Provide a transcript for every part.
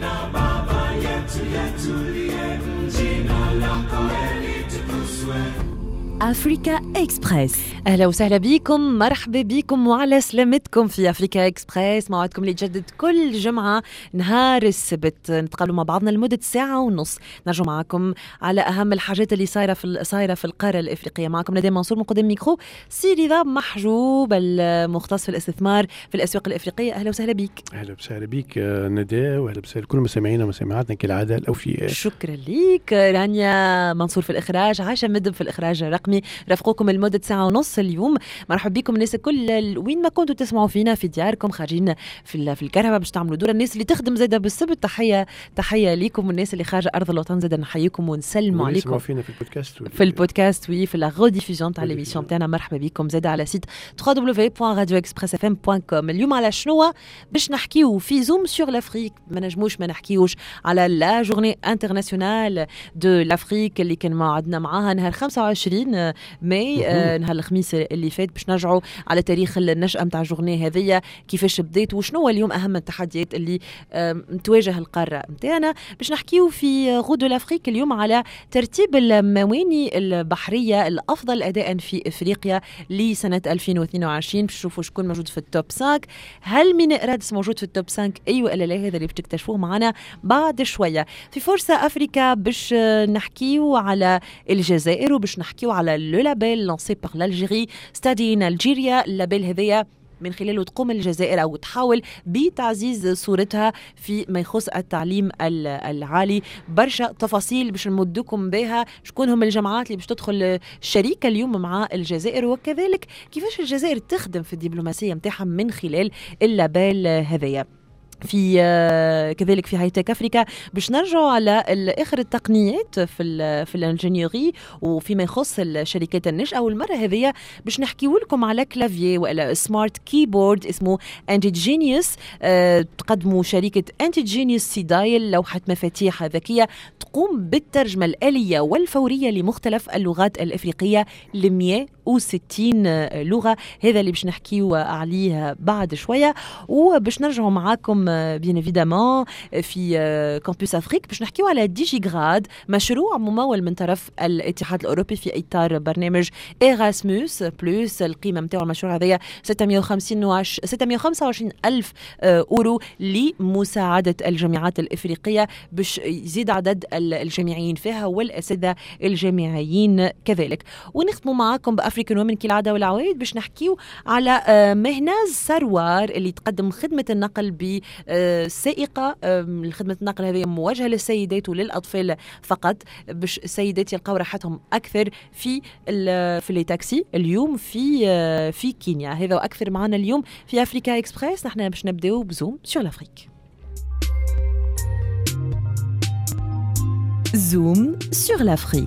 أفريكا إكسبريس. أهلا وسهلا بكم، مرحبا بكم وعلى سلامتكم في أفريكا إكسبريس. موعدكم اللي يتجدد كل جمعة نهار السبت، نتقابلوا مع بعضنا لمدة ساعة ونص، نرجو معكم على أهم الحاجات اللي صايرة في القارة الإفريقية. معكم نادين منصور من قدام ميكرو، سي رضا محجوب المختص في الاستثمار في الأسواق الإفريقية. أهلا وسهلا بك. أهلا وسهلا بك ندى، وأهلا وسهلا كل مستمعينا ومستمعاتنا كالعادة الأوفياء. شكرا ليك. رانيا منصور في الإخراج، عايشة مدب في الإخراج الرقمي، رافقوكم لمدة ساعة ونص اليوم. مرحبا بكم الناس الكل وين ما كنتوا تسمعوا فينا، في دياركم، خارجين في الكهرباء باش تعملوا دور، الناس اللي تخدم زاده بالسبت تحية ليكم، والناس اللي خارج أرض الوطن زاده نحييكم ونسلموا عليكم. يسمعوا فينا في البودكاست في لا ريديفوزيون تاع ليميسيون تاعنا. مرحبا بكم زاده على سيت www.radioexpressfm.com. اليوم على شنو باش نحكيو في زوم سور لافريك؟ ما نجموش ما نحكيوش على لا جورني انترناسيونال دو لافريك اللي كان موعدنا معاها نهار 25 ماي، نهار الخميس اللي فات، باش نرجعوا على تاريخ النشأة متاع الجورني هذية، كيفاش بدات وشنو اليوم أهم التحديات اللي تواجه القارة متاعنا. باش نحكيو في غدو لافريك اليوم على ترتيب المواني البحرية الأفضل أداء في إفريقيا لسنة 2022. باش نشوفوا شكون موجود في التوب 5. هل ميناء رادس موجود في التوب 5 أيوة ولا لا؟ هذا اللي باش تكتشفوه معنا بعد شوية. في فرصة أفريكا باش نحكيو على الجزائر، وباش نحكيو على لو لابيل لانسي بار l'Algérie ستادي ان الجيريا. اللابيل هذايا من خلاله تقوم الجزائر أو تحاول بتعزيز صورتها في ما يخص التعليم العالي. برشا تفاصيل باش نمدكم بها، شكون هم الجامعات اللي باش تدخل شريكة اليوم مع الجزائر، وكذلك كيفاش الجزائر تخدم في الدبلوماسية متاعها من خلال اللابيل هذايا. في كذلك في هايتك أفريكا باش نرجعوا على آخر التقنيات في الانجينيوري وفيما يخص الشركات الناشئة. والمرة هذه باش نحكيو لكم على كلافيي ولا سمارت كيبورد اسمه انتيجينيوس. تقدموا شركة انتيجينيوس سيدايل لوحة مفاتيح ذكية تقوم بالترجمة الآلية والفورية لمختلف اللغات الإفريقية ل 160 لغة. هذا اللي باش نحكيو عليه بعد شوية. وباش نرجعوا معاكم بيان ايفيدامون في كامبوس افريك باش نحكيو على ديجيغراد، مشروع ممول من طرف الاتحاد الاوروبي في اطار برنامج إيراسموس بلس. القيمه نتاع المشروع هذايا 625 الف اورو لمساعده الجامعات الافريقيه باش يزيد عدد الجامعيين فيها والاساتذه الجامعيين كذلك. ونختموا معاكم بافريكان وومن كالعاده والعوايد باش نحكيو على مهناز سروار اللي تقدم خدمه النقل سائقة. خدمة النقل هذه موجهة للسيدات وللأطفال فقط، باش السيدات يلقاو راحتهم أكثر في لي تاكسي اليوم في كينيا. هذا وأكثر معنا اليوم في أفريكا إكسبريس. نحن باش نبداو بزوم سور لافريك. زوم سور لافريك.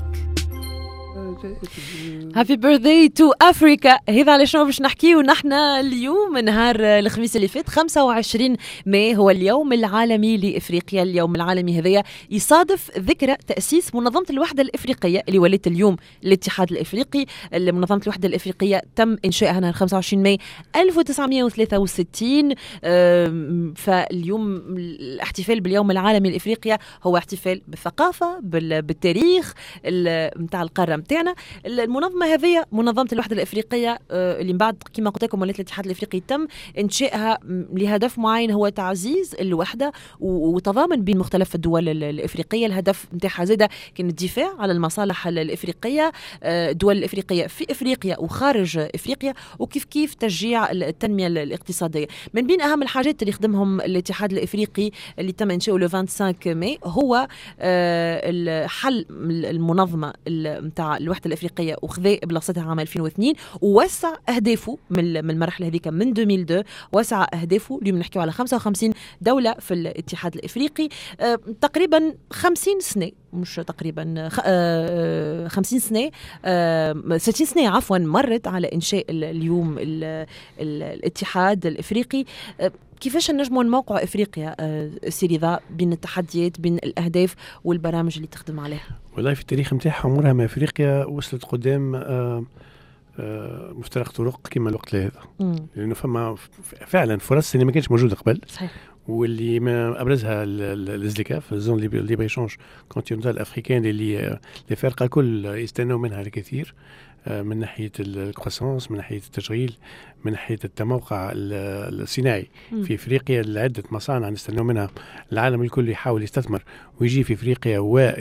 هابي بيرثداي تو افريكا. هذا على شنو باش نحكيو نحن اليوم؟ نهار الخميس اللي فات 25 ماي هو اليوم العالمي لافريقيا. اليوم العالمي هذايا يصادف ذكرى تاسيس منظمه الوحده الافريقيه اللي ولات اليوم الاتحاد الافريقي. منظمه الوحده الافريقيه تم انشائها نهار 25 ماي 1963. فاليوم الاحتفال باليوم العالمي لافريقيا هو احتفال بالثقافه بالتاريخ نتاع القاره نتاعنا. المنظمه هذه منظمه الوحده الافريقيه اللي من بعد كما قلت لكم ولات الاتحاد الافريقي تم انشائها لهدف معين هو تعزيز الوحده وتضامن بين مختلف الدول الافريقيه. الهدف نتاعها زاده كان الدفاع على المصالح الافريقيه، الدول الافريقيه في افريقيا وخارج افريقيا، وكيف تشجيع التنميه الاقتصاديه. من بين اهم الحاجات اللي خدمهم الاتحاد الافريقي اللي تم انشاؤه لو 25 ماي هو الحل المنظمه نتاع الوحده الافريقيه وخذا بلاصتها عام 2002 ووسع اهدافه من المرحله هذيك من 2002. وسع اهدافه اليوم نحكيو على 55 دوله في الاتحاد الافريقي. تقريبا 50 سنه، مش تقريبا 50 سنه 60 سنه عفوا مرت على انشاء اليوم الاتحاد الافريقي. كيفاش نجموا نموقعوا افريقيا سيريضا بين التحديات بين الاهداف والبرامج اللي تخدم عليها؟ والله في التاريخ نتاعها عمرها ما افريقيا وصلت قدام مفترق طرق كما الوقت هذا، لانه فما فعلا فرص اللي ما كانتش موجوده قبل. صحيح. واللي ما ابرزها الازدكاف الزون اللي بيشونج كونتيننتال افريكان اللي الفرقه الكل يستنوا منها الكثير من ناحيه الكروسانس، من ناحيه التشغيل، من ناحيه التموقع الصناعي في افريقيا. لعده مصانع نستنوا منها، العالم الكل يحاول يستثمر ويجي في افريقيا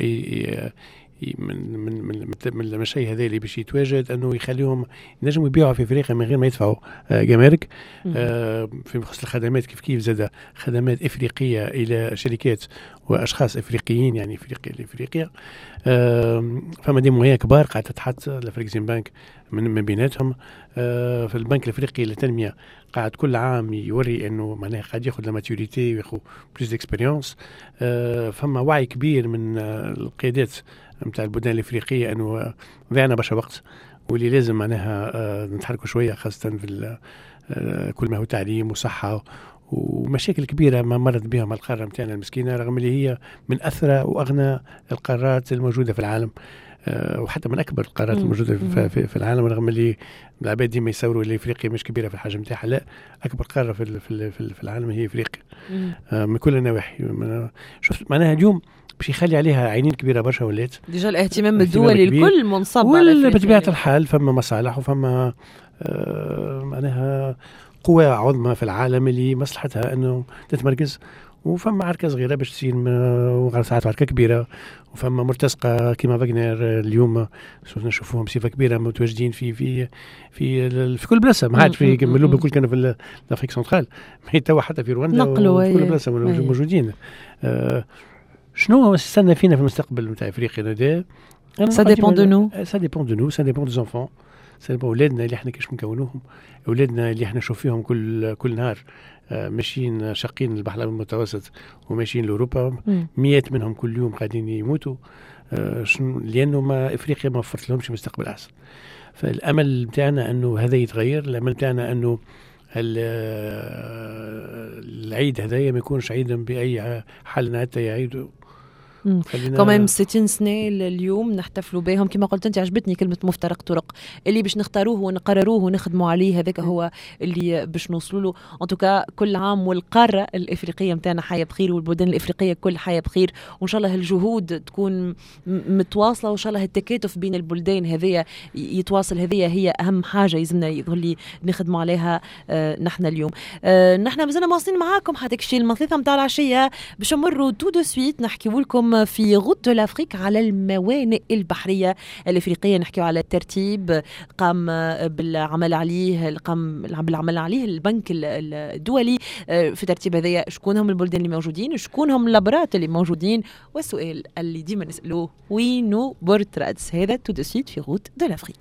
من المشي هذا اللي باش يتواجد انه يخليهم ينجموا يبيعوا في افريقيا من غير ما يدفعوا جمارك. في خصوص الخدمات كيف زاد خدمات افريقيه الى شركات واشخاص افريقيين، يعني افريقيا فما دي مويه كبار قاعده تتحط لافريكسيم بانك من بيناتهم. في البنك الافريقي للتنميه قاعد كل عام يوري انه معناها قاعد ياخذ لاماتوريتي وياخذ بلوس اكسبيريونس. فما وعي كبير من القيادات نتاع البلدان الافريقيه انه ضيعنا برشا وقت، واللي لازم معناها نتحركوا شويه، خاصه في كل ما هو تعليم وصحه ومشاكل كبيره ما مرت بها القاره نتاعنا المسكينه، رغم اللي هي من اثرى واغنى القارات الموجوده في العالم، وحتى من اكبر القارات الموجوده في العالم، رغم اللي العباد ديما يصوروا اللي افريقيا مش كبيره في الحجم نتاعها. لا، اكبر قاره في العالم هي افريقيا من كل النواحي. شفت معناها اليوم باش يخلي عليها عينين كبيره برشا، ولات ديجا الاهتمام الدولي الكل منصب على بطبيعه الحال. فما مصالح وفما معناها قوى عظمى في العالم اللي مصلحتها انه تتمركز، وفما عركه صغيره باش تصير ساعات عركه كبيره، وفما مرتزقه كيما فاغنر اليوم نشوفوهم بصفه كبيره متواجدين في كل بلاصه. ما عادش في كملوا بكل كانوا في الافريق سنترال، ما توا حتى في رواندا وفي كل بلاصه موجودين. شنو استنى فينا في المستقبل نتاع افريقيا هذا؟ Ça dépend de nous. Ça dépend de nous, ça dépend des enfants. Ça dépend أولادنا اللي احنا كيش نكونوهم، أولادنا اللي احنا نشوف فيهم كل نهار ماشيين شاقين البحر المتوسط وماشيين لأوروبا، مئات منهم كل يوم قاعدين يموتوا، لأنه ما إفريقيا ما وفرت لهمش مستقبل أحسن. فالأمل بتاعنا أنه هذا يتغير، الأمل بتاعنا أنه العيد هذايا ما يكونش عيدا بأي حال حتى يعيدوا. كمان 60 سنة اليوم نحتفلوا بهم. كما قلت أنت عجبتني كلمة مفترق طرق، اللي باش نختاروه ونقرروه ونخدموا عليه هذاك هو اللي باش نوصلوا له. أنتوكا كل عام والقارة الإفريقية متاعنا حياة بخير، والبلدان الإفريقية كل حياة بخير، وإن شاء الله الجهود تكون متواصلة، وإن شاء الله التكاتف بين البلدان هذية يتواصل. هذية هي أهم حاجة يلزمنا يظل نخدموا عليها نحن اليوم. نحن مازلنا مواصلين معاكم حتى كشي المنطقة متاع العشية باش نمروا تو دو سويت نحكيو لكم في غوت دو لافريك على الموانئ البحرية الإفريقية. نحكيو على الترتيب قام بالعمل عليه البنك الدولي في ترتيب هذايا. شكون هم البلدان اللي موجودين، شكون هم اللابرات اللي موجودين، والسؤال اللي ديما نسألوه وينو بورترادز. هذا تو دو سويت في غوت دو لافريك.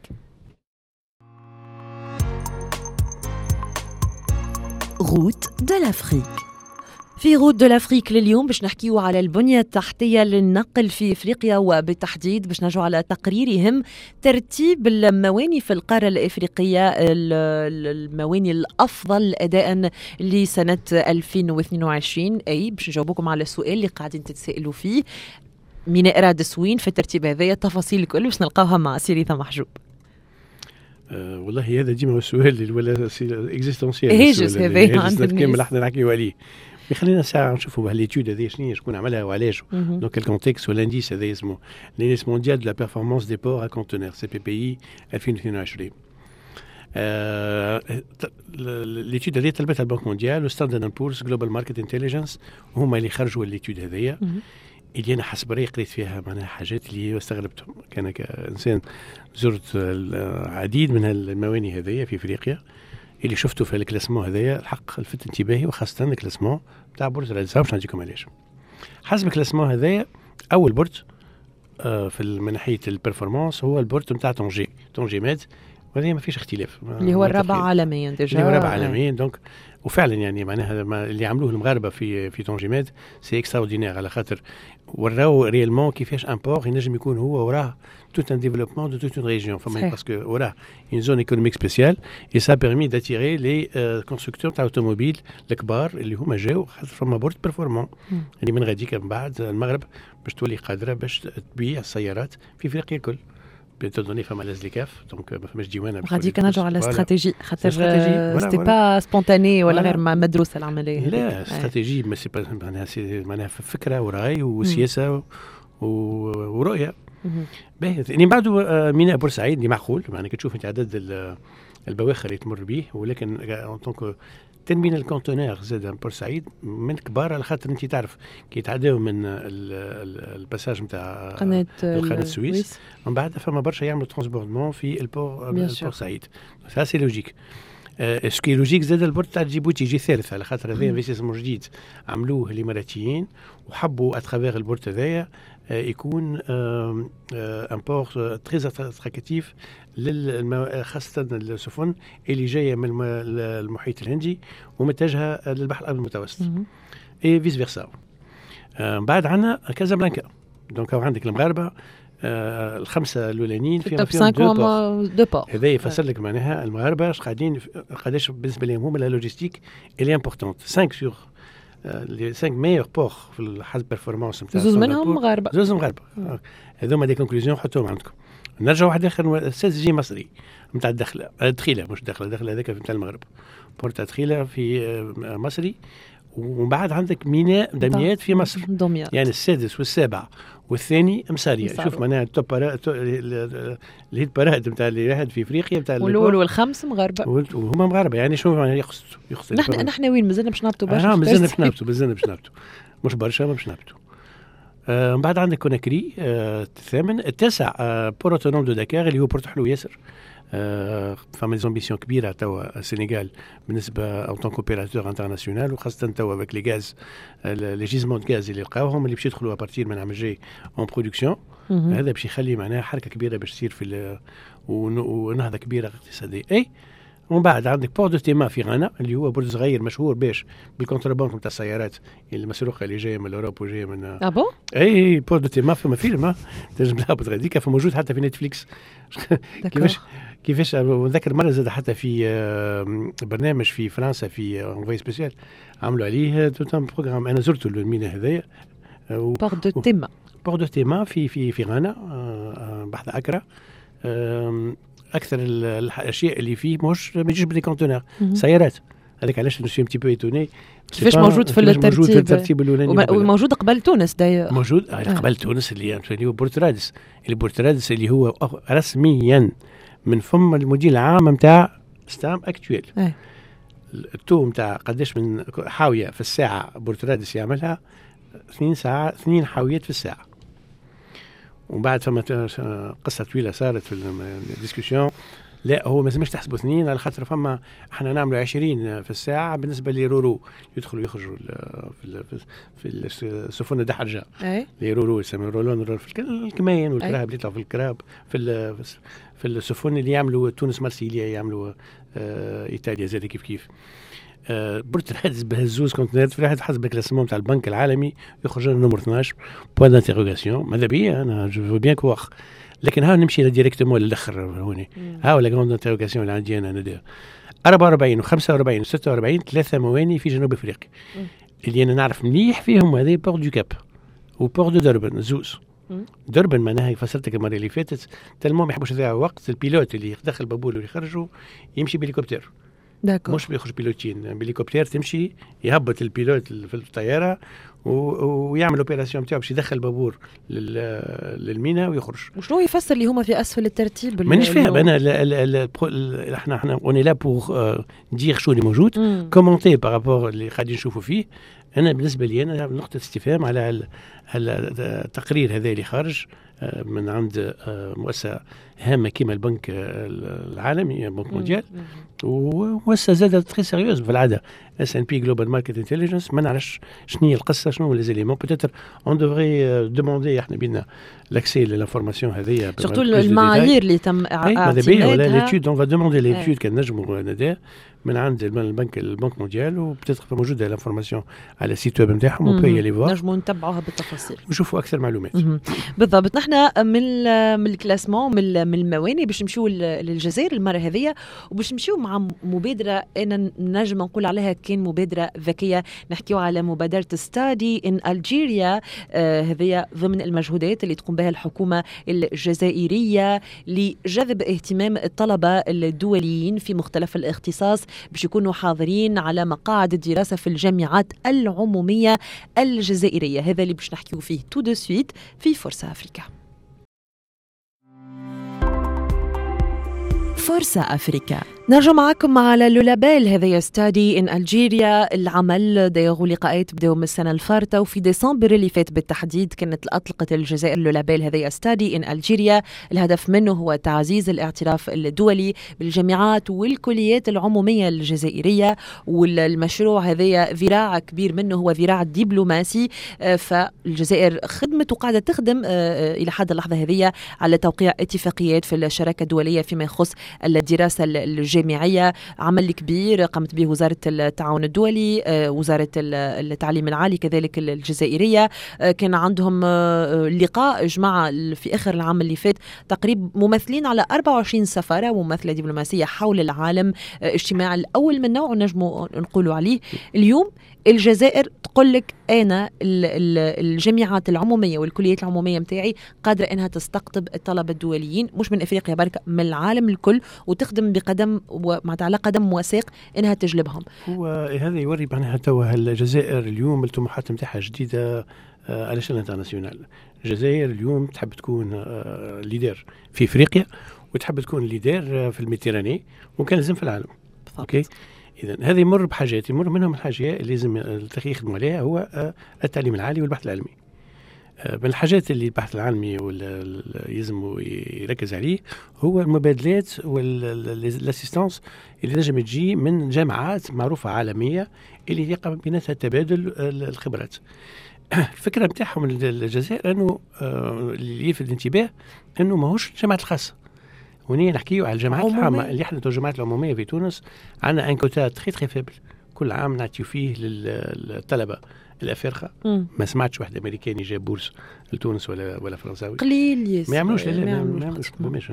غوت دو لافريك. في غوت دو لافريك لليوم باش نحكيو على البنية التحتية للنقل في إفريقيا، وبالتحديد باش نرجعوا على تقرير يهم ترتيب المواني في القارة الإفريقية، المواني الأفضل أداء لسنة 2022. أي باش نجاوبكم على السؤال اللي قاعدين تتسائلوا فيه، مين إراد سوين في الترتيب هذايا. التفاصيل الكل باش نلقاوها مع سيريثا محجوب. والله هذا ديما هو السؤال ولا اكزيستونسيال هيجس هذايا عندنا كامل احنا نحكيو عليه. خلينا ساعه نشوفوا هاليتود هذه شكون عملها وعلاش، دونك الكونتكست والانديس هذا اسمه لينديس مونديال دو لا بيرفورمانس دي بور ا كونتونير سي بي بي اي 2022. ليتود هذه طلبتها البنك مونديال وستاندرد اند بورز جلوبال ماركت انتليجنس، وهما اللي خرجوا الليتود هذيا اللي انا حسب رايي قريت فيها معناها حاجات اللي استغربتهم. كان كانسان زرت العديد من المواني هذيا في افريقيا، اللي شفته في الكلاسمون هذايا الحق لفت انتباهي، وخاصه الكلاسمون تاع بورترادز. باش نعطيكم علاش. حسب الكلاسمون هذايا اول بورت من ناحيه البرفورمانس هو البورت نتاع طونجي ماد، وهذا ما فيش اختلاف، اللي هو الرابع عالميا ديجا، اللي هو الرابع عالميا. دونك وفعلا يعني معناها اللي عملوه المغاربه في طونجي ماد سي اكستراوردينير، على خاطر وراو ريالمون كيفاش ان بور ينجم يكون هو وراه tout un développement de toute une région. Parce que voilà, une zone économique spéciale, et ça a permis d'attirer les constructeurs d'automobiles الكبار اللي هما جاو فما بورت بيرفورمون اللي من غاديك من بعد المغرب باش تولي قادره باش تبيع السيارات في افريقيا الكل. بتدوني فما لازليكاف دونك ما فماش ديوانه غادي كنرجعوا على استراتيجي خاطر سيتي با سبونتاني ولا غير مدروسه العمليه. لا استراتيجي ما سي با معناها فكره وراي وسياسه ورؤيه. باهي يعني بعده ميناء بورسعيد اللي معقول معناها كتشوف انت عدد البواخر اللي تمر به ولكن دونك ترمينال الكونتينر زاد بورسعيد من كبار على خاطر انت تعرف كي يتعداو من الباساج نتاع قناه السويس ومن بعد فما برشا يعملوا ترانسبوردمون في بورسعيد سا سي لوجيك. اسكي لوجيك زاد البورت تاع جيبوتي يجي ثالث على خاطر هذا انفستيسمون جديد عملوه الاماراتيين وحبوا اترافير البورت هذايا يكون ان بورت تري اتراكتيف خاصة السفن اللي جاية من المحيط الهندي ومتجهة للبحر الأبيض المتوسط اي فيس فيرسا. بعد عنا كازابلانكا دونك عندك المغاربة الخمسة الأولانيين في دو بور. هذا يفسر لك معناها المغاربة قداش بالنسبة لهم هما لا لوجيستيك اللي امبورطونت 5 سور les 5 meilleurs ports في الحسب performance نتاع زوز منهم مغاربة. زوز مغاربة هذوما دي كونكلوزيون حطوهم عندكم. نرجع واحد اخر جي مصري نتاع الدخله دخيله مش دخله هذاك نتاع المغرب بورت دخيله في مصري. ومن بعد عندك ميناء دمياط في مصر يعني السادس والسابع والثاني مسارية. شوف معناها التوب اللي هي البراد نتاع اللي واحد في افريقيا نتاع والاول والخامس مغاربه وهما مغاربه يعني شو معناها يقصد نحن وين مازلنا باش نهبطوا برشا مازلنا باش نهبطوا مش برشا ما باش نهبطوا. من بعد عندك كوناكري الثامن. التاسع بور اوتونوم دو داكار اللي هو بورت حلو ياسر. فما زامبيسيون كبيره توا السنغال بالنسبه او طون كوبيراتور انترناسيونال وخاصه توا بك لي غاز لي جيزمون دو غاز اللي لقاوهم اللي باش يدخلوا ابارتير من عام الجاي اون برودكسيون. هذا باش يخلي معناها حركه كبيره باش تصير في ونهضه كبيره اقتصاديه. اي ومن بعد عندك بور دو تيما في غانا اللي هو برج صغير مشهور باش بالكونترباند نتاع السيارات المسروقه اللي جايه من اوروبا وجايه من بون اي بور دو تيما فما فيلم تنجم تهبط غاديك فموجود حتى في نتفليكس. كيفاش نذكر مره زاد حتى في برنامج في فرنسا في انفوي سبيسيال عملوا عليه توتام بروغرام. انا زرت الميناء هذايا بور دو تيما في غانا بحث اكرا. اكثر الاشياء اللي فيه مش ما يجيش بدي كونتينر سيارات. هذاك علاش نسي ام تي بو ايتوني كيفاش موجود في الترتيب الاولاني وموجود قبل تونس موجود قبل تونس اللي هو بورترادس اللي هو رسميا من فم المدير العام نتاع ستام اكتويل. التو نتاع قداش من حاويه في الساعه بورترادس يعملها 2 حاويات في الساعه. ومن بعد فما قصه طويله صارت في الديسكوسيون. لا هو ما لازمش تحسبوا 2 على خاطر فما احنا نعملوا 20 في الساعه بالنسبه لرورو يدخلوا يخرجوا في السفن الدحرجه لي رورو يسموا رولون في الكمين والكراب اللي يطلعوا في الكراب في السفن اللي يعملوا تونس مارسيليا يعملوا ايطاليا زي كيف بورترادس بهزوز كونتينرات في واحد حسب الكلاسمون تاع البنك العالمي يخرج لنا نمر 12 بوان دانتيروغاسيون. ماذا بيا انا جو فو بيان كوخ لكن ها نمشي ديريكتومون للاخر هوني ها ولا غروند انتيروغاسيون اللي عندي انا ندير 44 و45 و46 3 مواني في جنوب افريقيا اللي انا نعرف مليح فيهم هذه بور دو كاب وبور دو دربن زوز. دربن معناها فسرتك المره اللي فاتت تلمو ما يحبوش يضيعوا وقت. البيلوت اللي يدخل بابول ويخرجوا يمشي بهليكوبتر مش بيخرج بيلوتين بهليكوبتر تمشي يهبط البيلوت في الطياره ويعمل اوبيراسيون نتاعو باش يدخل بابور للمينا ويخرج. وشنو يفسر اللي هما في اسفل الترتيب؟ مانيش فاهم انا احنا اوني لا بور ندير شو اللي موجود كومونتي بارابور اللي قاعدين نشوفوا فيه. انا بالنسبه لي انا نقطه استفهام على التقرير هذا اللي خارج من عند مؤسسه هامه كيما البنك العالمي البنك مونديال ومؤسسه زادت تري سيريوز في العاده S&P Global Market Intelligence. ما نعرفش شنو هي القصه شنو لي زيليمون بوتيتر اون دوفري دوموندي احنا بينا لاكسي للانفورماسيون هذيا سورتو المعايير اللي تم اعطائها ولا ليتود اون فا دوموندي ليتود كان نجموا ندير من عند البنك مونديال وبتتر موجوده الانفورماسيون على السيت ويب نتاعهم وبي لي فوار نجموا نتبعوها بالتفاصيل ونشوفوا اكثر معلومات. بالضبط. نحن من الكلاسمون من المواني باش نمشيو للجزائر المره هذه وباش نمشيو مع مع مبادرة أنا نجم نقول عليها كان مبادرة ذكية. نحكيو على مبادرة ستادي إن ألجيريا. هذه ضمن المجهودات اللي تقوم بها الحكومة الجزائرية لجذب اهتمام الطلبة الدوليين في مختلف الاختصاص باش يكونوا حاضرين على مقاعد الدراسة في الجامعات العمومية الجزائرية. هذا اللي باش نحكيو فيه تو دو سويت في فرصة أفريكا. فرصة أفريكا. نرجع معكم على لولابيل. هذا ستادي إن ألجيريا. العمل دايروا لقاءات بداوا من السنة الفارطة، وفي ديسمبر اللي فات بالتحديد كانت أطلقت الجزائر لولابيل هذا ستادي إن ألجيريا. الهدف منه هو تعزيز الاعتراف الدولي بالجامعات والكليات العمومية الجزائرية، والمشروع هذا ذراع كبير منه هو ذراع دبلوماسي. فالجزائر خدمت وقاعدة تخدم إلى حد اللحظة هذه على توقيع اتفاقيات في الشراكة الدولية فيما يخص الدراسة الجامعية. عمل كبير قامت به وزارة التعاون الدولي، وزارة التعليم العالي كذلك الجزائرية. كان عندهم لقاء جماعة في آخر العام اللي فات تقريبا ممثلين على 24 سفارة وممثلة دبلوماسية حول العالم. اجتماع الأول من نوعه نجموا نقولوا عليه. اليوم الجزائر تقول لك أنا الجامعات العمومية والكليات العمومية متاعي قادرة أنها تستقطب الطلبة الدوليين مش من إفريقيا بركة، من العالم الكل، وتخدم بقدم على قدم وثيق أنها تجلبهم. هو هذا يوري معناها توا الجزائر اليوم الطموحات متاعها جديدة على شان انترناسيونال. الجزائر اليوم تحب تكون ليدر في إفريقيا، وتحب تكون ليدر في الميديتراني، وكان لازم في العالم. أوكي. إذن هذا يمر بحاجات، يمر منهم الحاجة اللي لازم يخدموا عليها هو التعليم العالي والبحث العلمي. من الحاجات اللي البحث العلمي يلزم يركز عليه هو المبادلات والاسيستانس اللي نجم تجي من جامعات معروفة عالمية اللي يقع بيناتها تبادل الخبرات. الفكرة متاعهم الجزائر أنه اللي يلفت الانتباه أنه ماهوش الجامعات الخاصة. ونيجي نحكيو على الجامعات العامة اللي احنا الجامعات العمومية في تونس عندنا ان كوتا تري فيبل. كل عام نعطيو فيه للطلبة الأفارقة. ما سمعتش واحد أمريكاني جاب بورس لتونس ولا فرنساوي قليل. ما يعملوش. لا ما يعملوش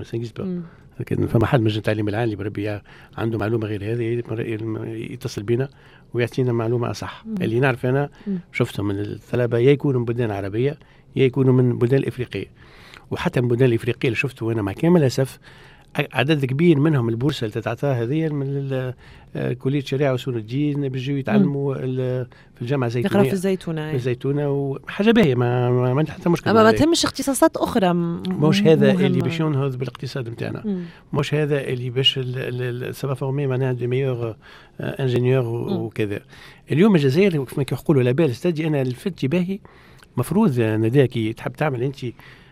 لكن فما حد من التعليم العالي بربي عنده معلومة غير هذه يتصل بينا ويعطينا معلومة أصح. اللي نعرف أنا شفتهم من الطلبة يا يكونوا من بلدان عربية يا يكونوا من بلدان الإفريقية. وحتى من البلدان الإفريقية اللي شفته أنا مع كامل الأسف عدد كبير منهم البورصة اللي تتعطاها هذه من كلية شريعة وأصول الدين بيجوا يتعلموا في الجامعة الزيتونية. يقرأوا في الزيتونة. وحاجة باهية ما عندها حتى مشكلة. أما ما تهمش اختصاصات أخرى. مش هذا اللي باش ينهض بالاقتصاد متاعنا. مش هذا اللي باش سافا فورمي معناها دي ميور انجينيور وكذا. اليوم الجزائر كما يقولوا لابال ستادي. أنا لفت باهي مفروض نداكي تحب تعمل أنت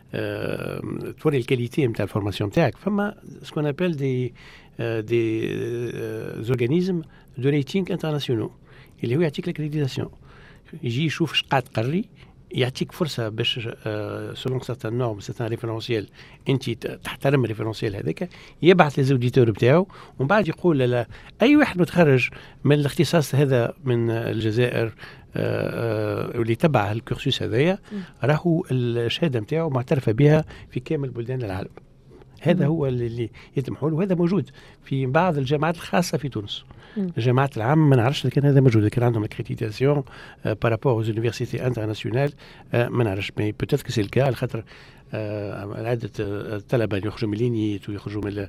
توري الكاليتي نتاع الفورماسيون نتاعك. فما سكون ابل دي زورغانيزم دو ريتينغ انترناسيونال اللي هو يعطيك الكريديتاسيون. يجي يشوف اش قاعد تقري، يعطيك فرصه باش سولون سيرتان نورم سيرتان ريفيرونسيال انت تحترم الريفيرونسيال هذاك، يبعث للزوديتور بتاعه ومن بعد يقول لا اي واحد متخرج من الاختصاص هذا من الجزائر واللي تبع الكورسوس هذايا راهو الشهاده نتاعو معترفه بها في كامل بلدان العالم. هذا هو اللي يتمحوا له، وهذا موجود في بعض الجامعات الخاصه في تونس. الجامعات العامة ما نعرفش لكن هذا موجود، لكن عندهم الكريديتاسيون بارابور aux universités internationales ما نعرفش مي بوتيت كو سي الكا على خاطر عدة الطلبة اللي يخرجوا من لينيت ويخرجوا من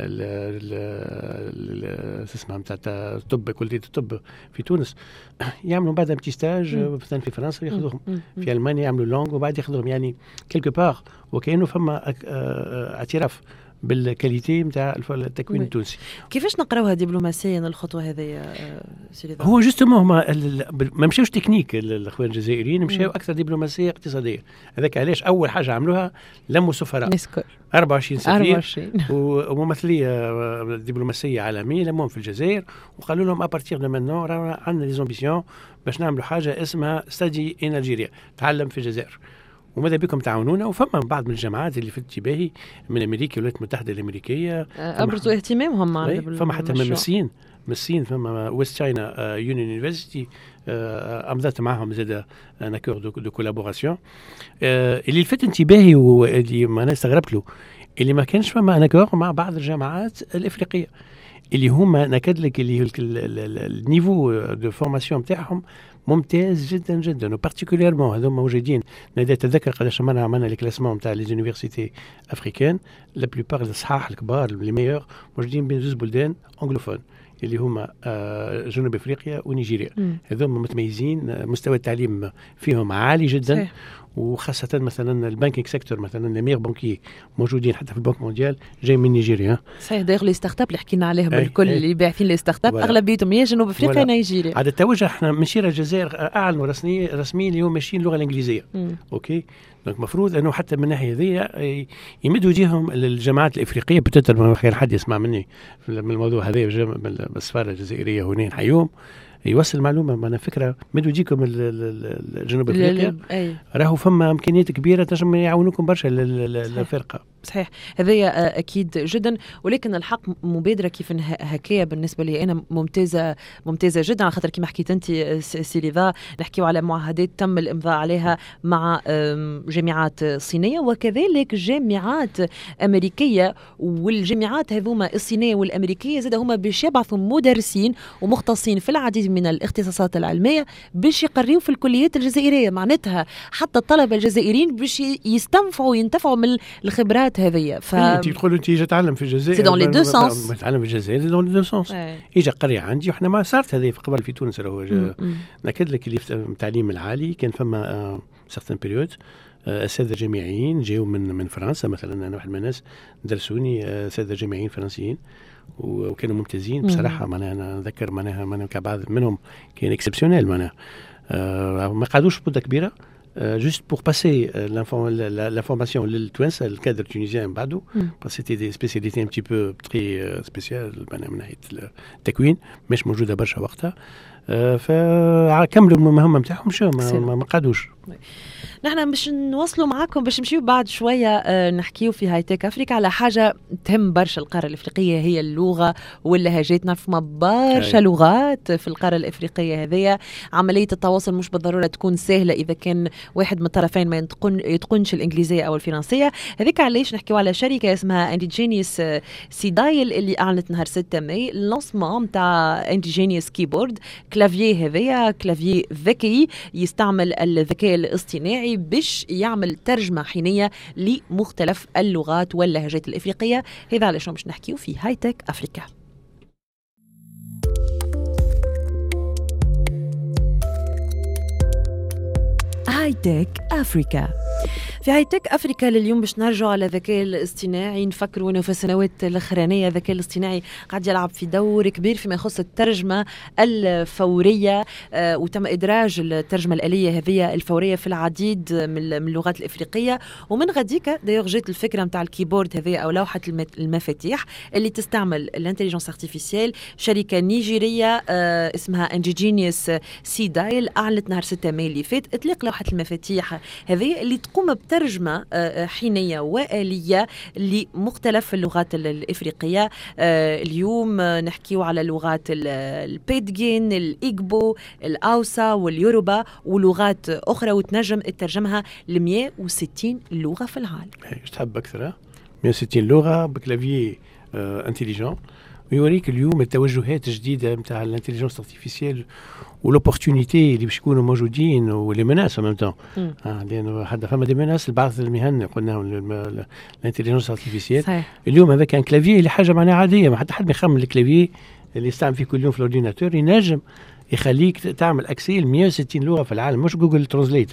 اسمها نتاع الطب كلية الطب في تونس يعملوا بعد بتي ستاج مثلا في فرنسا ياخذوهم، في ألمانيا يعملوا لونغ وبعد ياخذوهم، يعني كيلكو بار وكأنه فما اعتراف بالكاليتي نتاع التكوين التونسي. كيفاش نقراوها دبلوماسيا الخطوه هذه سيدي؟ هو جوستومون ما مشاوش تكنيك الاخوان الجزائريين، مشاو اكثر دبلوماسيه اقتصاديه. هذاك علاش اول حاجه عملوها لموا سفراء 24 سفير وممثليه دبلوماسيه عالميه لموهم في الجزائر وقالوا لهم ابارتيغ دو مانون عندنا لي زامبيسيون باش نعملوا حاجه اسمها ستادي ان الجيريا، تعلم في الجزائر وماذا بكم تعاونونا. وفما بعض من الجامعات اللي في انتباهي من امريكا والولايات المتحده الامريكيه ابرزوا اهتمامهم معنا. فما حتى ممثلين فما ويست تشاينا يونيون يونيفرسيتي امضت معهم زاد ان اكور دو كولابوراسيون. اللي لفت انتباهي واللي ما انا استغربت له اللي ما كانش فما ان اكور مع بعض الجامعات الافريقيه اللي هما نكد لك اللي النيفو دو فورماسيون نتاعهم ممتاز جدا جدا، وبارتيكوليرمون هذوما موجودين. نتذكر قداش مرة عملنا الكلاسمون نتاع لي زونيفرسيتي افريكان، لا بلوبار الصحاح الكبار لي ميور موجودين بين زوج بلدان انجلوفون اللي هما جنوب افريقيا ونيجيريا. هذوما متميزين، مستوى التعليم فيهم عالي جدا صحيح. وخاصة مثلا البانكينج سيكتور، مثلا لي ميغ بانكي موجودين حتى في البنك مونديال جاي من نيجيريا. صحيح، داير لي ستارت اب اللي حكينا عليهم الكل اللي باعثين لي ستارت اب اغلبيتهم يا جنوب افريقيا نيجيريا. عاد التوجه احنا ماشيين الجزائر اعلنوا رسميا اليوم ماشيين اللغه الانجليزيه. اوكي، دونك المفروض انه حتى من الناحيه هذه يمدوا وجههم للجامعات الافريقيه. بتتر خير حد يسمع مني من الموضوع هذا بالسفاره الجزائريه هنا نحيوهم، يوصل معلومه. انا فكره مدوا يجيكم الجنوب افريقيا راهو فما امكانيات كبيره تنجم يعاونوكم برشا للفرقه. صحيح، هذايا اكيد جدا، ولكن الحق مبادره كيف هكايا بالنسبه لي انا ممتازه جدا، على خاطر كما حكيت انت سيليفا نحكيو على معاهدات تم الامضاء عليها مع جامعات صينيه وكذلك جامعات امريكيه، والجامعات هذوما الصينيه والامريكيه زاد هما باش يبعثوا مدرسين ومختصين في العديد من الاختصاصات العلميه باش يقريوا في الكليات الجزائريه. معناتها حتى الطلبه الجزائريين باش يستنفعوا وينتفعوا من الخبرات هذه. انت تقول انت اجي تعلم في الجزائر، سي دون لي دو سونس، تعلم في الجزائر دون لي دو سونس. اجى قريه عندي وحنا ما صارت هذه قبل في تونس. راهو ناكد لك اللي في التعليم العالي كان فما سيغتان بيريود اساتذه جامعيين جاوا من فرنسا. مثلا انا واحد من الناس درسوني اساتذه جامعيين فرنسيين وكانوا ممتازين بصراحه. معناها انا نذكر معناها كبعض منهم كان اكسبسيونيل، معناها ما قعدوش مده كبيره juste pour passer l'information للتوانسه الكادر التونسيين بعده، parce que c'était des spécialités un petit peu très spéciales من ناحيه التكوين مش موجوده برشا وقتها. فكملوا المهمه نتاعهم مشاو ما قعدوش. نحن باش نوصلوا معاكم باش نمشيو بعد شويه نحكيو في هاي تك افريكا على حاجه تهم برشا القاره الافريقيه، هي اللغه واللهجات. نعرف ما برشا لغات في القاره الافريقيه هذيا. عمليه التواصل مش بالضروره تكون سهله اذا كان واحد من الطرفين ما يتقنش الانجليزيه او الفرنسيه. هذيك علاش نحكيو على شركه اسمها انديجينيوس سيدايل اللي اعلنت نهار 6 ماي اللانسمون نتاع انديجينيوس كيبورد. كلافيي هذيا كلافيي ذكي يستعمل الذكاء الاصطناعي باش يعمل ترجمة حينية لمختلف اللغات واللهجات الإفريقية. هذا علاش باش نحكيو في هاي تك أفريكا. هاي تك أفريكا. في هاي تك أفريكا لليوم باش نرجعوا على الذكاء الاصطناعي. نفكروا أنه في السنوات الأخرانية الذكاء الاصطناعي قاعد يلعب في دور كبير فيما يخص الترجمة الفورية، وتم إدراج الترجمة الآلية هذه الفورية في العديد من اللغات الإفريقية. ومن غديك دايوغ جات الفكرة متاع الكيبورد هذه أو لوحة المفاتيح اللي تستعمل الانتليجنس ارتيفيسيال. شركة نيجيرية اسمها انديجينيوس سيدايل أعلنت نهار 6 ماي اللي فات إطلاق لوحة المفاتيح هذه اللي تقوم بترجمة حينية وآلية لمختلف اللغات الإفريقية. اليوم نحكيو على لغات البيدجين، الإيغبو، الأوسا واليوروبا ولغات أخرى، وتنجم تترجمها ل 160 لغة في العالم. ايش تحب أكثر؟ 160 لغة بكلافيي انتليجون، ويوريك اليوم التوجهات الجديدة متاع الانتليجنس ارتيفيسيال والأوبورتونيتي اللي باش يكونوا موجودين ولي مناس ميم طون. لأنه حتى فما دي مناس لبعض المهن قلناهم الانتليجنس ارتيفيسيال. اليوم هذا كان كلافيي اللي حاجة معناها عادية، ما حتى حد ما يخمم الكلافيي اللي يستعمل فيه كل يوم في الأورديناتور ينجم يخليك تعمل أكسي ل 160 لغة في العالم، مش جوجل ترانزليت.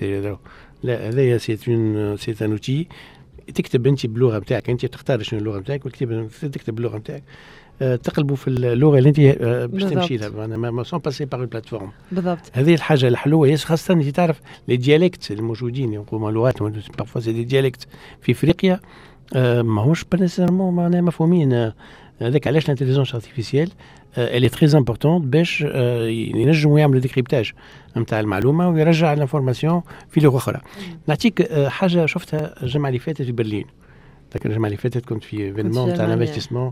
لا، هذايا سي ان اوتي تكتب انت باللغه نتاعك، انت تختار شنو اللغه نتاعك تكتب باللغه نتاعك، تقلبوا في اللغه اللي انت باش تمشي لها، ما سون باسي باغ البلاتفورم. بالضبط، هذه الحاجه الحلوه، خاصه انت تعرف لي ديالكت الموجودين يقولوا لغات بارفوا سي دي ديالكت في افريقيا ماهوش بنسيرمون معناها مفهومين. هذاك علاش الانتليجنس ارتيفيسيال اللي تري امبورطون باش ينجموا يعملوا ديكريبتاج نتاع المعلومه ويرجع الانفورماسيون في لغه اخرى. نعطيك حاجه شفتها الجمعه اللي فاتت في برلين. لكن الجمعه اللي فاتت كنت في ايفينمون تاع الانفستيسمون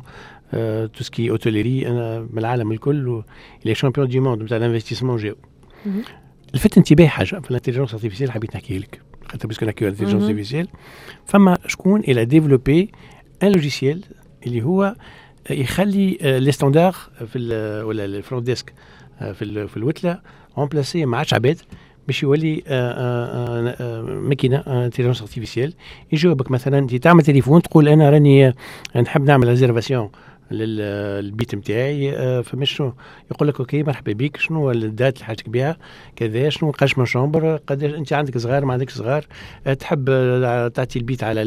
تو سكي اوتيليري، انا من العالم الكل لي شامبيون دي موند تاع الانفستيسمون جاو. لفت انتباه حاجه في الانتليجنس ارتيفيسيال حبيت نحكي لك، خاطر باسكو نحكيو على الانتليجنس ارتيفيسيال. فما شكون الى ديفلوبي ان لوجيسيال اللي هو يخلي لي ستاندار ولا الفرونت ديسك في الوتله رامبلاسي ما عادش عباد، باش يولي ماكينه انتيليجنس ارتيفيسيال يجاوبك. مثلا انت تعمل تليفون تقول انا راني نحب نعمل ريزيرفاسيون للبيت نتاعي، فمش يقول لك اوكي مرحبا بك، شنو الدات اللي حاجتك بها كذا، شنو قاش من شومبر، قداش انت عندك صغار ما عندك صغار، تحب تعطي البيت على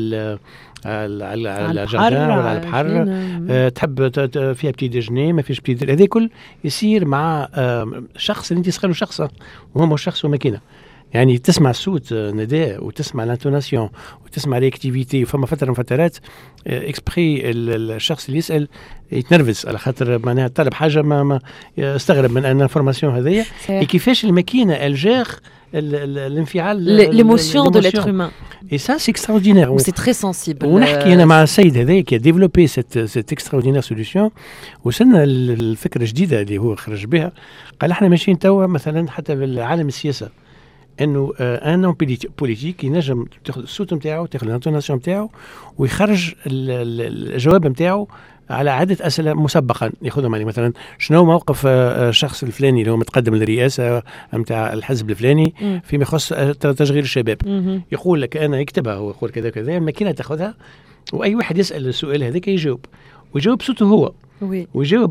الجردان ولا على البحر، تحب فيها بتي ديجني ما فيش بتي، هذا كل يصير مع شخص اللي انت تسخله شخصه وهو مش شخص وماكينه. يعني تسمع الصوت نداء وتسمع الانتوناسيون وتسمع رياكتيفيتي، وفما فتره من فترات اكسبري الشخص اللي يسال يتنرفز على خاطر معناها طلب حاجه ما استغرب من ان الانفورماسيون هذيا، كيفاش الماكينه الجاغ الانفعال l'émotion de l'être humain. Et ça c'est extraordinaire. C'est très sensible. ونحكي انا مع السيد هذا qui a développé cette extraordinaire solution، وصلنا الفكره الجديده اللي هو خرج بها. قال احنا ماشيين توا مثلا حتى في العالم السياسه انه ان بوليتيك ينجم تاخذ الصوت نتاعو، تاخذ الانتوناسيون نتاعو، ويخرج الجواب نتاعو على عدة أسئلة مسبقا ياخذهم. يعني مثلا شنو موقف الشخص الفلاني اللي هو متقدم للرئاسة نتاع الحزب الفلاني فيما يخص تشغيل الشباب، يقول لك أنا يكتبها هو يقول كذا كذا، الماكينة تاخذها وأي واحد يسأل السؤال هذاك يجاوب، ويجاوب بصوته هو، ويجاوب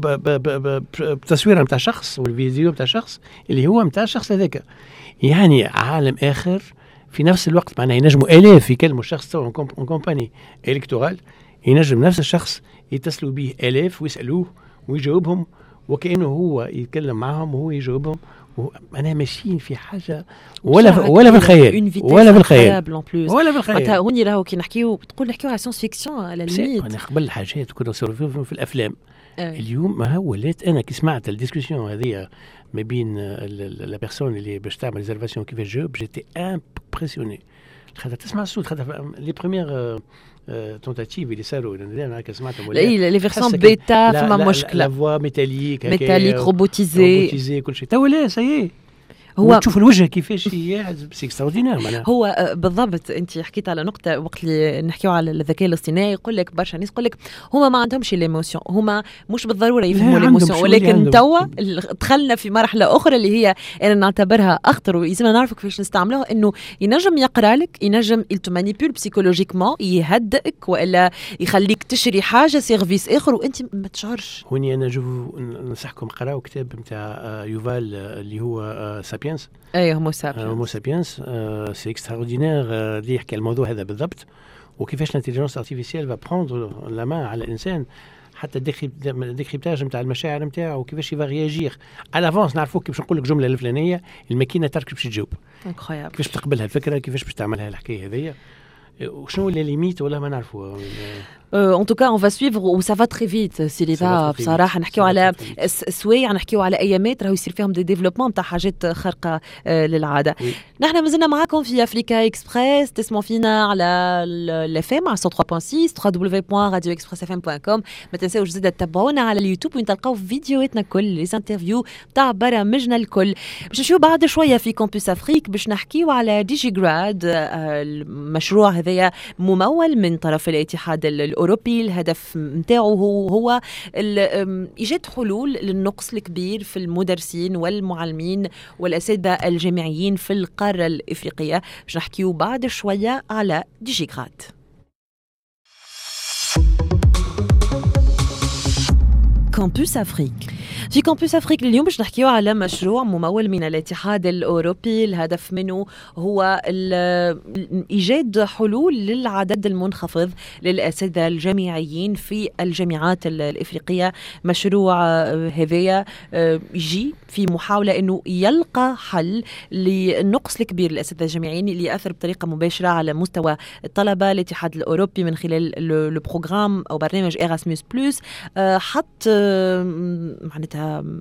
بتصوير نتاع شخص والفيديو نتاع شخص اللي هو نتاع الشخص هذاك. يعني عالم آخر في نفس الوقت، معناه ينجموا آلاف يكلموا الشخص تو كومباني إلكتورال، ينجم نفس الشخص يتصلوا به آلاف ويسألوه ويجاوبهم وكأنه هو يتكلم معهم وهو يجاوبهم. أنا ماشيين في حاجة ولا في الخيال ولا في الخيال ولا في الخيال. هوني راهو كي نحكيو على ساينس فيكسيون على الميت. أنا قبل الحاجات كنا نصوروا في الأفلام. اليوم ما هو ولات أنا كي سمعت الديسكوسيون هذه ما بين لا بيرسون اللي باش تعمل ريزرفاسيون كيفاش جاوب، جيتي امبرسيوني خاطر تسمع الصوت، خاطر لي بروميير تونتاتيف اللي صاروا انا سمعتهم لي فيرسون بيتا فما مشكله، لا فوا ميتاليك روبوتيزي كل شيء تو لا سي هو تشوف الوجه كيفاش سي اكستراوردينير معناها. هو بالضبط انت حكيت على نقطه وقت اللي نحكيو على الذكاء الاصطناعي، يقول لك برشا ناس يقول لك هما ما عندهمش ليموسيون، هما مش بالضروره يفهموا ليموسيون، ولكن توا دخلنا في مرحله اخرى اللي هي انا نعتبرها اخطر ولازمنا نعرف كيفاش نستعملوها، انه ينجم يقرا لك، ينجم يلتمانيبول بسيكولوجيكمون، يهدئك والا يخليك تشري حاجه سيرفيس اخر وانت ما تشعرش. هوني انا ننصحكم قراو كتاب نتاع يوفال اللي هو سابينس. هومو سابينس سي اكستراوردينير اللي يحكي الموضوع هذا بالضبط، وكيفاش الانتيليجنس ارتيفيسيال فا بروندر لا مان على الانسان، حتى الديكريبتاج نتاع المشاعر نتاعو وكيفاش يفا رياجير على افونس، نعرفوك كيفاش نقول لك جمله الفلانيه الماكينه ترك باش تجاوب كيفاش تقبلها الفكره، كيفاش باش تعملها الحكايه هذيا، وشنو اللي ليميت ولا ما نعرفوها. En tout cas, on va suivre où ça va très vite. سيريتا بصراحة نحكيو على سوايع، نحكيو على أيامات راهو يصير فيهم دي ديفلوبمون تاع حاجات خارقة للعادة. نحن مازلنا معاكم في أفريكا إكسبريس، تسمعوا فينا على الFM على 103.6 www.radioexpressfm.com. ما تنساوش زيدا تتابعونا على اليوتيوب وين تلقاو فيديوهاتنا الكل، لي انترفيو تاع برامجنا الكل. باش نمشيو بعد شوية في كامبوس أفريك باش نحكيو على ديجيغراد، المشروع هذايا ممول من طرف الاتحاد الأوروبي. الهدف متاعه هو إيجاد حلول للنقص الكبير في المدرسين والمعلمين والأساتذة الجامعيين في القارة الإفريقية. باش نحكيو بعد شوية على ديجيغراد. كامبوس أفريك. في كامبوس أفريك اليوم باش نحكيو على مشروع ممول من الاتحاد الأوروبي. الهدف منه هو إيجاد حلول للعدد المنخفض للأساتذة الجامعيين في الجامعات الإفريقية. مشروع هذايا يجي في محاولة أنه يلقى حل للنقص الكبير للأساتذة الجامعيين اللي يأثر بطريقة مباشرة على مستوى الطلبة. الاتحاد الأوروبي من خلال البروغرام أو برنامج إيراسموس بلس حط معناتها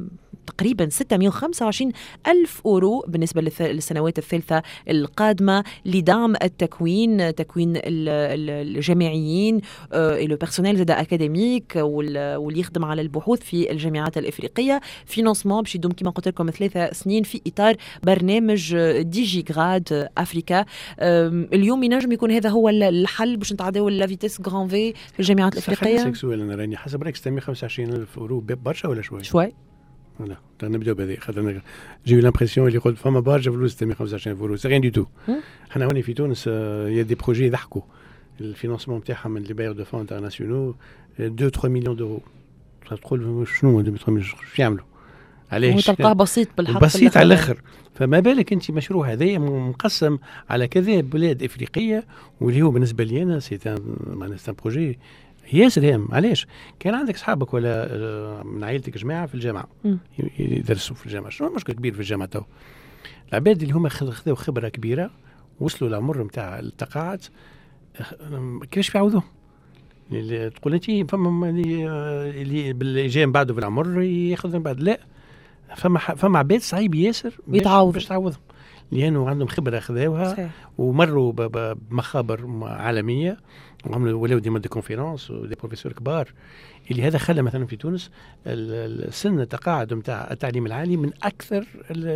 تقريبا 625 ألف أورو بالنسبة للسنوات الثالثة القادمة لدعم التكوين، تكوين الجامعيين لو بيرسونيل زاد أكاديميك واللي يخدم على البحوث في الجامعات الإفريقية. فينانسمون باش يدوم كما قلت لكم 3 سنين في إطار برنامج ديجي غراد أفريكا. اليوم ينجم يكون هذا هو الحل باش نتعداو لا فيتيس غران في الجامعات الإفريقية. خليني سؤال أنا راني حسب رأيك 625 ألف أورو برشا ولا شوي؟ شوي. Voilà, نبداو بهذه خاطر جي لامبرسيون اللي قلت فما برشا فلوس 625 أورو سي ريان دو تو. حنا هوني في تونس يا دي بروجي يضحكوا الفينانسمون نتاعهم من لي باير دو فون انترناسيونال 2-3 مليون دورو. تقول شنو 2-3 مليون شو يعملوا؟ علاش؟ وتلقاه بسيط بالحق، بسيط على الاخر. فما بالك انت مشروع هذايا مقسم على كذا بلاد افريقيه، واللي هو بالنسبه لي انا سي معناها سي بروجي ياسر هام. علاش؟ كان عندك اصحابك ولا من عائلتك جماعه في الجامعه يدرسوا في الجامعه، شنو المشكل كبير في الجامعه تو؟ العباد اللي هما خذوا خبره كبيره وصلوا للعمر نتاع التقاعد، كيفاش يعوضوه؟ تقول انت فما اللي جاي من بعده في العمر ياخذ من بعد، لا فما عباد صعيب ياسر باش تعوضهم، لانه عندهم خبره خذاوها ومروا بمخابر عالميه وعملوا ولاو ديما دي كونفيرونس ودي بروفيسور كبار، اللي هذا خلى مثلا في تونس السن التقاعد نتاع التعليم العالي من اكثر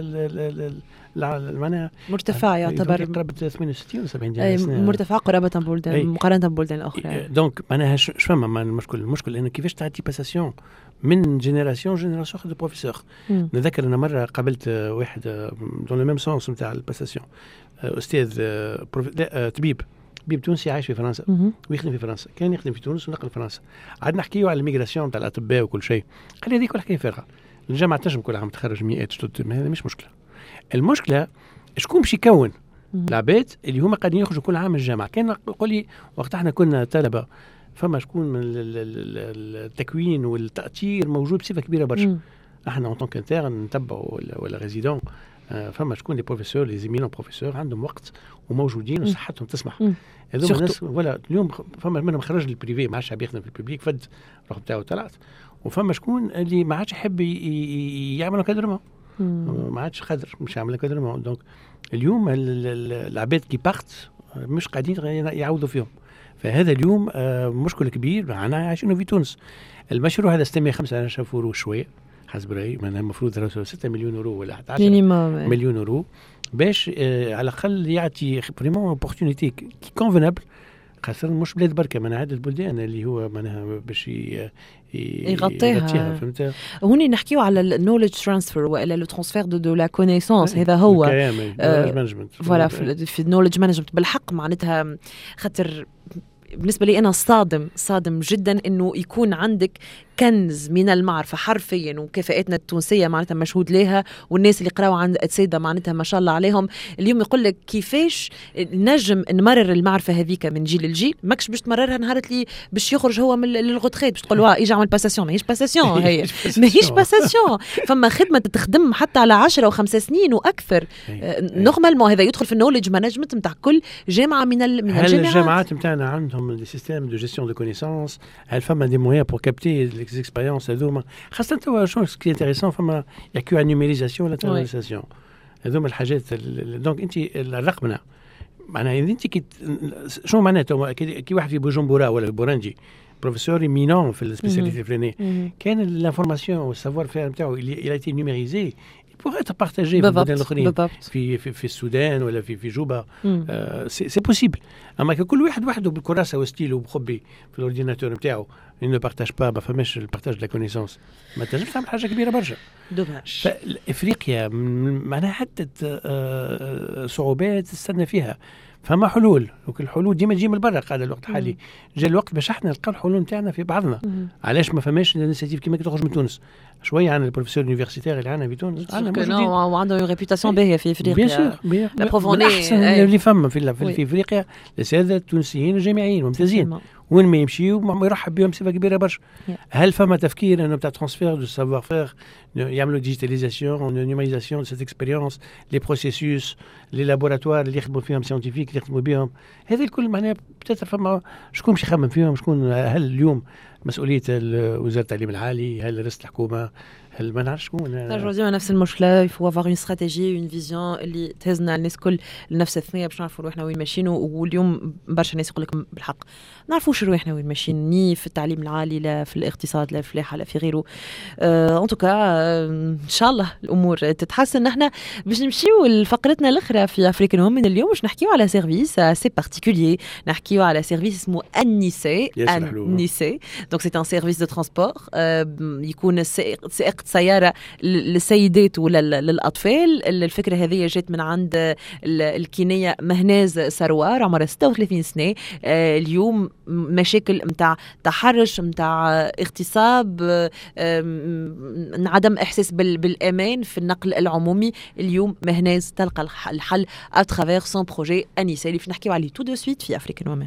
معناها مرتفع، يعتبر قرابه 68 و 70 مرتفع قرابه ببلدان مقارنه ببلدان اخرى. دونك معناها فما المشكل انه كيفاش تعطي باساسيون من جينيراسيون دو بروفيسور. نذكر انا مره قابلت واحد دون لو ميم سونس نتاع الباساسيون، استاذ طبيب تونسي عايش في فرنسا ويخدم في فرنسا، كان يخدم في تونس ونقل فرنسا. قعدنا نحكيو على الميغراسيون نتاع الاطباء وكل شيء، قال لي هذيك كل حكايه فارغه، الجامعه تنجم كل عام تخرج 100 شتوت، هذا مش مشكله. المشكله شكون باش يكون العباد اللي هما قاعدين يخرجوا كل عام من الجامعه. كان يقول لي وقت احنا كنا طلبه فما شكون من التكوين والتأثير موجود بصفه كبيره برشا. احنا اون طونك انترن نتبعوا ولا ريزيدون، فما شكون لي بروفيسور لي زيمينون بروفيسور عندهم وقت وموجودين وصحتهم تسمح. هذوما الناس ولا اليوم فما منهم خرج للبريفي ما عادش يخدم في الببليك، فد الروح بتاعه طلعت. وفما شكون اللي ما عادش يحب يعمل كادرمون، ما عادش قادر مش يعمل كادرمون. دونك اليوم العباد كي بارت مش قاعدين يعوضوا فيهم. فهذا اليوم مشكل كبير معنا عايشينه في تونس. المشروع هذا 625 أورو شويه حسب رأيي، معناها المفروض 6 مليون أورو ولا 11 مليون أورو باش على الأقل يعطي فريمون اوبورتونيتي كي كونفينابل، خاصة مش بلاد بركة من عدد البلدان اللي هو معناها باش يغطيها. فهمت؟ هوني نحكيو على النوليدج ترانسفير والا لو ترانسفير دو لا كونيسونس. هذا هو فوالا في النوليدج مانجمنت بالحق. معناتها خاطر بالنسبة لي أنا صادم جدا إنه يكون عندك كنز من المعرفة حرفيا، وكفاءاتنا التونسية معناتها مشهود لها، والناس اللي قراوا عند السيدة معناتها ما شاء الله عليهم. اليوم يقول لك كيفاش نجم نمرر المعرفة هذيك من جيل لجيل، ماكش باش تمررها نهار اللي باش يخرج هو من الغوتريت باش تقول يجي عمل باساسيون. ماهيش باساسيون هي ماهيش باساسيون. فما خدمة تخدم حتى على 10 و5 سنين وأكثر. نورمالمون هذا يدخل في النوليدج مانجمنت نتاع كل جامعة من الجامعات. الجامعات نتاعنا عندهم دي سيستيم دو جيستيون دو كونيسانس، هل فما دي مويان بور كابتي اكسبيريونس هذوما، خاصة توا شنو سكي انتريسون فما يحكيو على النيميريزاسيون ولا ترانسيسيون، هذوما الحاجات. دونك انت الرقمنه معناها انت شنو معناته كي واحد في بوجمبورا ولا بورانجي بروفيسور مينون في السبيسياليتي الفلانيه، كان لانفورماسيون والسافوار فير نتاعو اللي ايتي نيميريزي pour être partagé في البلدان الاخرين في السودان ولا في جوبا. سي بوسيبل. اما كل واحد وحده بالكراسه وستيله وبخبي في الاورديناتور نتاعو انه بارتاج با ما فماش البارتاج دو لا كونيسونس، ما تنجمش تعمل حاجه كبيره برشا. دوماج. فافريقيا معناها حتى صعوبات استنى فيها، فما حلول، وكل الحلول ديما تجي من برا. قاعد الوقت الحالي جاء الوقت باش احنا نلقاو الحلول نتاعنا في بعضنا. علاش ما فماش الانيشيتيف كيما تخرج من تونس شويه عن البروفيسور يونيفرسيتير اللي عندنا في تونس، وعنده ريبيوتاسيون باهيه في افريقيا. لا بروفوني اللي فما في افريقيا الساده التونسيين الجامعيين ممتازين، وين ما يمشيوا يرحب بهم بصفه كبيره برشا. هل فما تفكير انه بتاع ترانسفير دو سافوار فير، يعملوا ديجيتاليزاسيون نيوميريزاسيون دو سيت اكسبيريونس، لي بروسيسوس، لي لابوراتوار اللي يخدموا فيهم ساينتيفيك اللي يخدموا بهم، هذا الكل معناها بتاتر فما شكون باش يخمم فيهم، شكون هل اليوم مسؤوليه وزاره التعليم العالي، هل رئاسه الحكومه، هل ما نعرفش شكون نرجعوا ديما نفس المشكله. يفو افوار اون استراتيجي اون فيزيون اللي تهزنا الناس كل لنفس الثنيه باش نعرفوا روحنا وين ماشيين. واليوم برشا ناس يقول لك بالحق نعرفوش روحنا وين ماشيين، ني في التعليم العالي لا في الاقتصاد لا في الفلاحه لا في غيره. ان توكا ان شاء الله الامور تتحسن. نحن باش نمشيو لفقرتنا الاخرى في افريكان وومن اليوم، باش نحكيو على سيرفيس سي بارتيكولير. نحكيو على سيرفيس اسمه النيسي. النيسي دونك سي ان سيرفيس دو ترانسبور، يكون سائق سياره للسيدات ولا للاطفال. الفكره هذه جات من عند الكينيه مهناز سروار عمرها 36 سنه. اليوم مشاكل نتاع تحرش، نتاع اغتصاب، عدم احساس بالامان في النقل العمومي. اليوم مهناز تلقى الحل اترافير سون بروجي انيسا اللي نحكيو عليه تو دو سويت في افريكان وومن.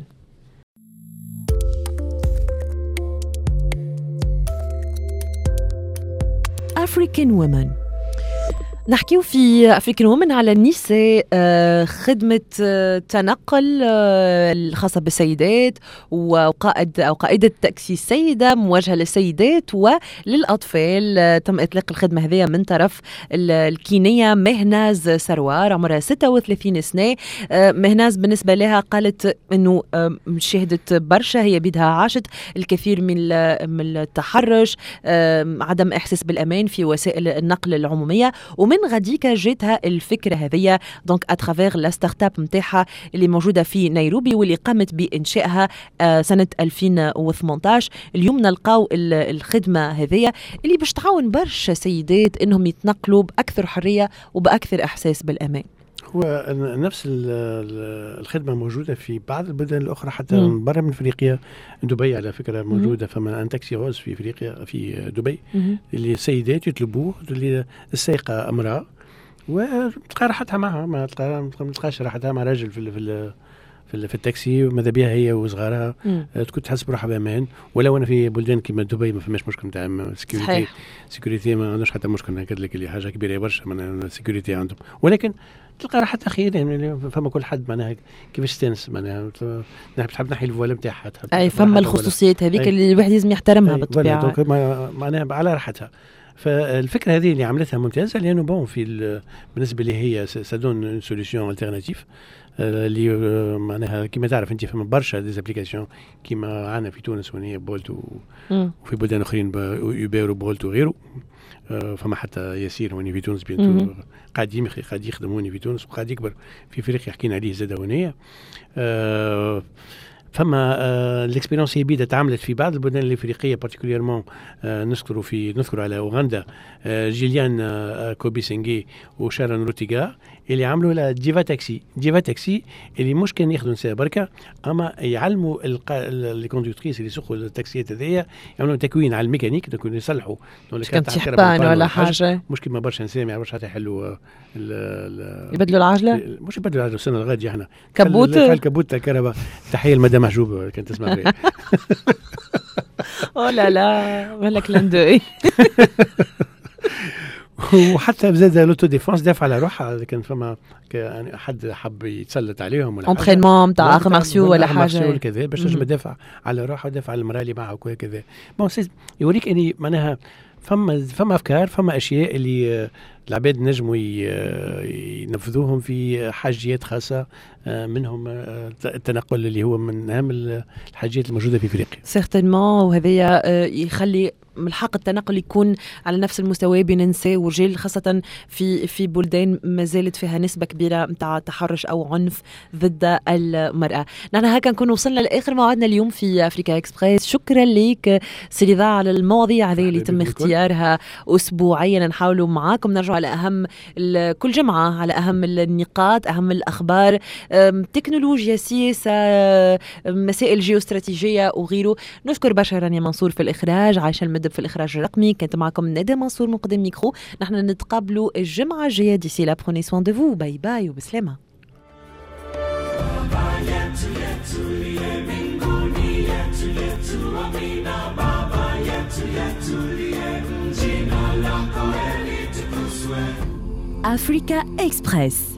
African Women. نحكيو في أفريكان وومن على النساء، خدمة تنقل الخاصة بالسيدات وقائد أو قائدة تاكسي سيدة موجهة للسيدات وللأطفال. تم إطلاق الخدمة هذه من طرف الكينية مهناز سروار عمرها 36 سنة. مهناز بالنسبة لها قالت أنه شهدت برشا، هي بيدها عاشت الكثير من التحرش، عدم إحساس بالأمان في وسائل النقل العمومية. ومن غديكا جاتها الفكرة هذه دونك اترافير لا ستارت اب نتاعها اللي موجودة في نيروبي واللي قامت بإنشائها سنة 2018. اليوم نلقاو الخدمة هذه اللي باش تعاون برشا سيدات انهم يتنقلوا بأكثر حرية وبأكثر إحساس بالأمان. هو نفس الخدمة موجودة في بعض البلدان الأخرى حتى برا من أفريقيا. دبي على فكرة موجودة، فما أن تاكسي غوز في أفريقيا في دبي اللي السيدات يطلبوه، اللي السائقة امرأة وتلقى راحتها معها، ما تلقاش راحتها مع راجل في التاكسي، ماذا بها هي وصغارها تكون تحس بروحها بامان. ولو انا في بلدان كيما دبي ما فماش مشكل نتاع سيكوريتي ما عندوش حتى مشكل، نقول لك اللي حاجه كبيره برشا من السيكوريتي عندهم، ولكن تلقى راحتها خير. يعني فما كل حد معناها كيفاش استانس، معناها تحب تنحي الفوالا نتاعها، اي فما الخصوصيات هذيك اللي الواحد لازم يحترمها بالطبيعه، معناها على راحتها. فالفكره هذه اللي عملتها ممتازه، لانه بون في بالنسبه لي هي سادون سوليسيون التيرناتيف اللي معناها كما تعرف انت فما برشا ديزابليكاسيون كيما عندنا في تونس وهي بولت وفي بلدان اخرين يوبر وبولت وغيره. فما حتى ياسير هوني في تونس بينتو قاعد يخدم هوني في تونس وقاعد يكبر في افريقيا، حكينا عليه زاد هونيه. فما الاكسبيرينس هي بيدا تعملت في بعض البلدان الافريقيه بارتيكوليرمون. نذكر على اوغندا جيليان كوبيسينغي وشارون روتيغا اللي عملوا لا ديفا تاكسي اللي مش كان ياخذوا نساء بركه، اما يعلموا لي كوندكتريس اللي يسوقوا التاكسيات هذيا، يعملوا تكوين على الميكانيك، دونك يصلحوا كان ولا حاجه، مش كيما برشا نساء ما يعرفوش حتى يحلوا يبدلوا العجله، مش يبدلوا العجله السنه الغاديه احنا كبوت الكهرباء. تحيه لمدام محجوب كانت تسمع فيها. لا ولا كلاندوي. وحتى زاد لوتو ديفونس دافع على روحها، كان فما يعني حد حب يتسلط عليهم ولا انترينمون نتاع اخ مارسيو ولا حاجه كذا باش تنجم تدافع على روحها ودافع على المراه اللي معها وكذا. بون يوريك اني معناها فما افكار، فما اشياء اللي العباد نجموا ينفذوهم في حاجيات خاصه، منهم التنقل اللي هو من اهم الحاجات الموجوده في افريقيا سيرتينمون. وهذا يخلي من الحق التنقل يكون على نفس المستوى بين النساء والرجال، خاصة في بلدان ما زالت فيها نسبة كبيرة متاع تحرش أو عنف ضد المرأة. نحن هكا نكون وصلنا لآخر موعدنا اليوم في أفريكا إكسبريس. شكرا لك سيدي ضاع على المواضيع هذه اللي تم اختيارها أسبوعيا، نحاولوا معاكم نرجع على أهم كل جمعة على أهم النقاط، أهم الأخبار، تكنولوجيا، سياسة، مسائل جيوستراتيجية وغيره. نشكر برشا رانيا منصور في الإخراج، عايشة المدب في الإخراج الرقمي، كانت معكم ندى منصور مقدم ميكرو. نحن نتقابلوا الجمعة الجاية. ديسي لا بروني سوان دو فو، باي باي وبسلامة. Africa Express.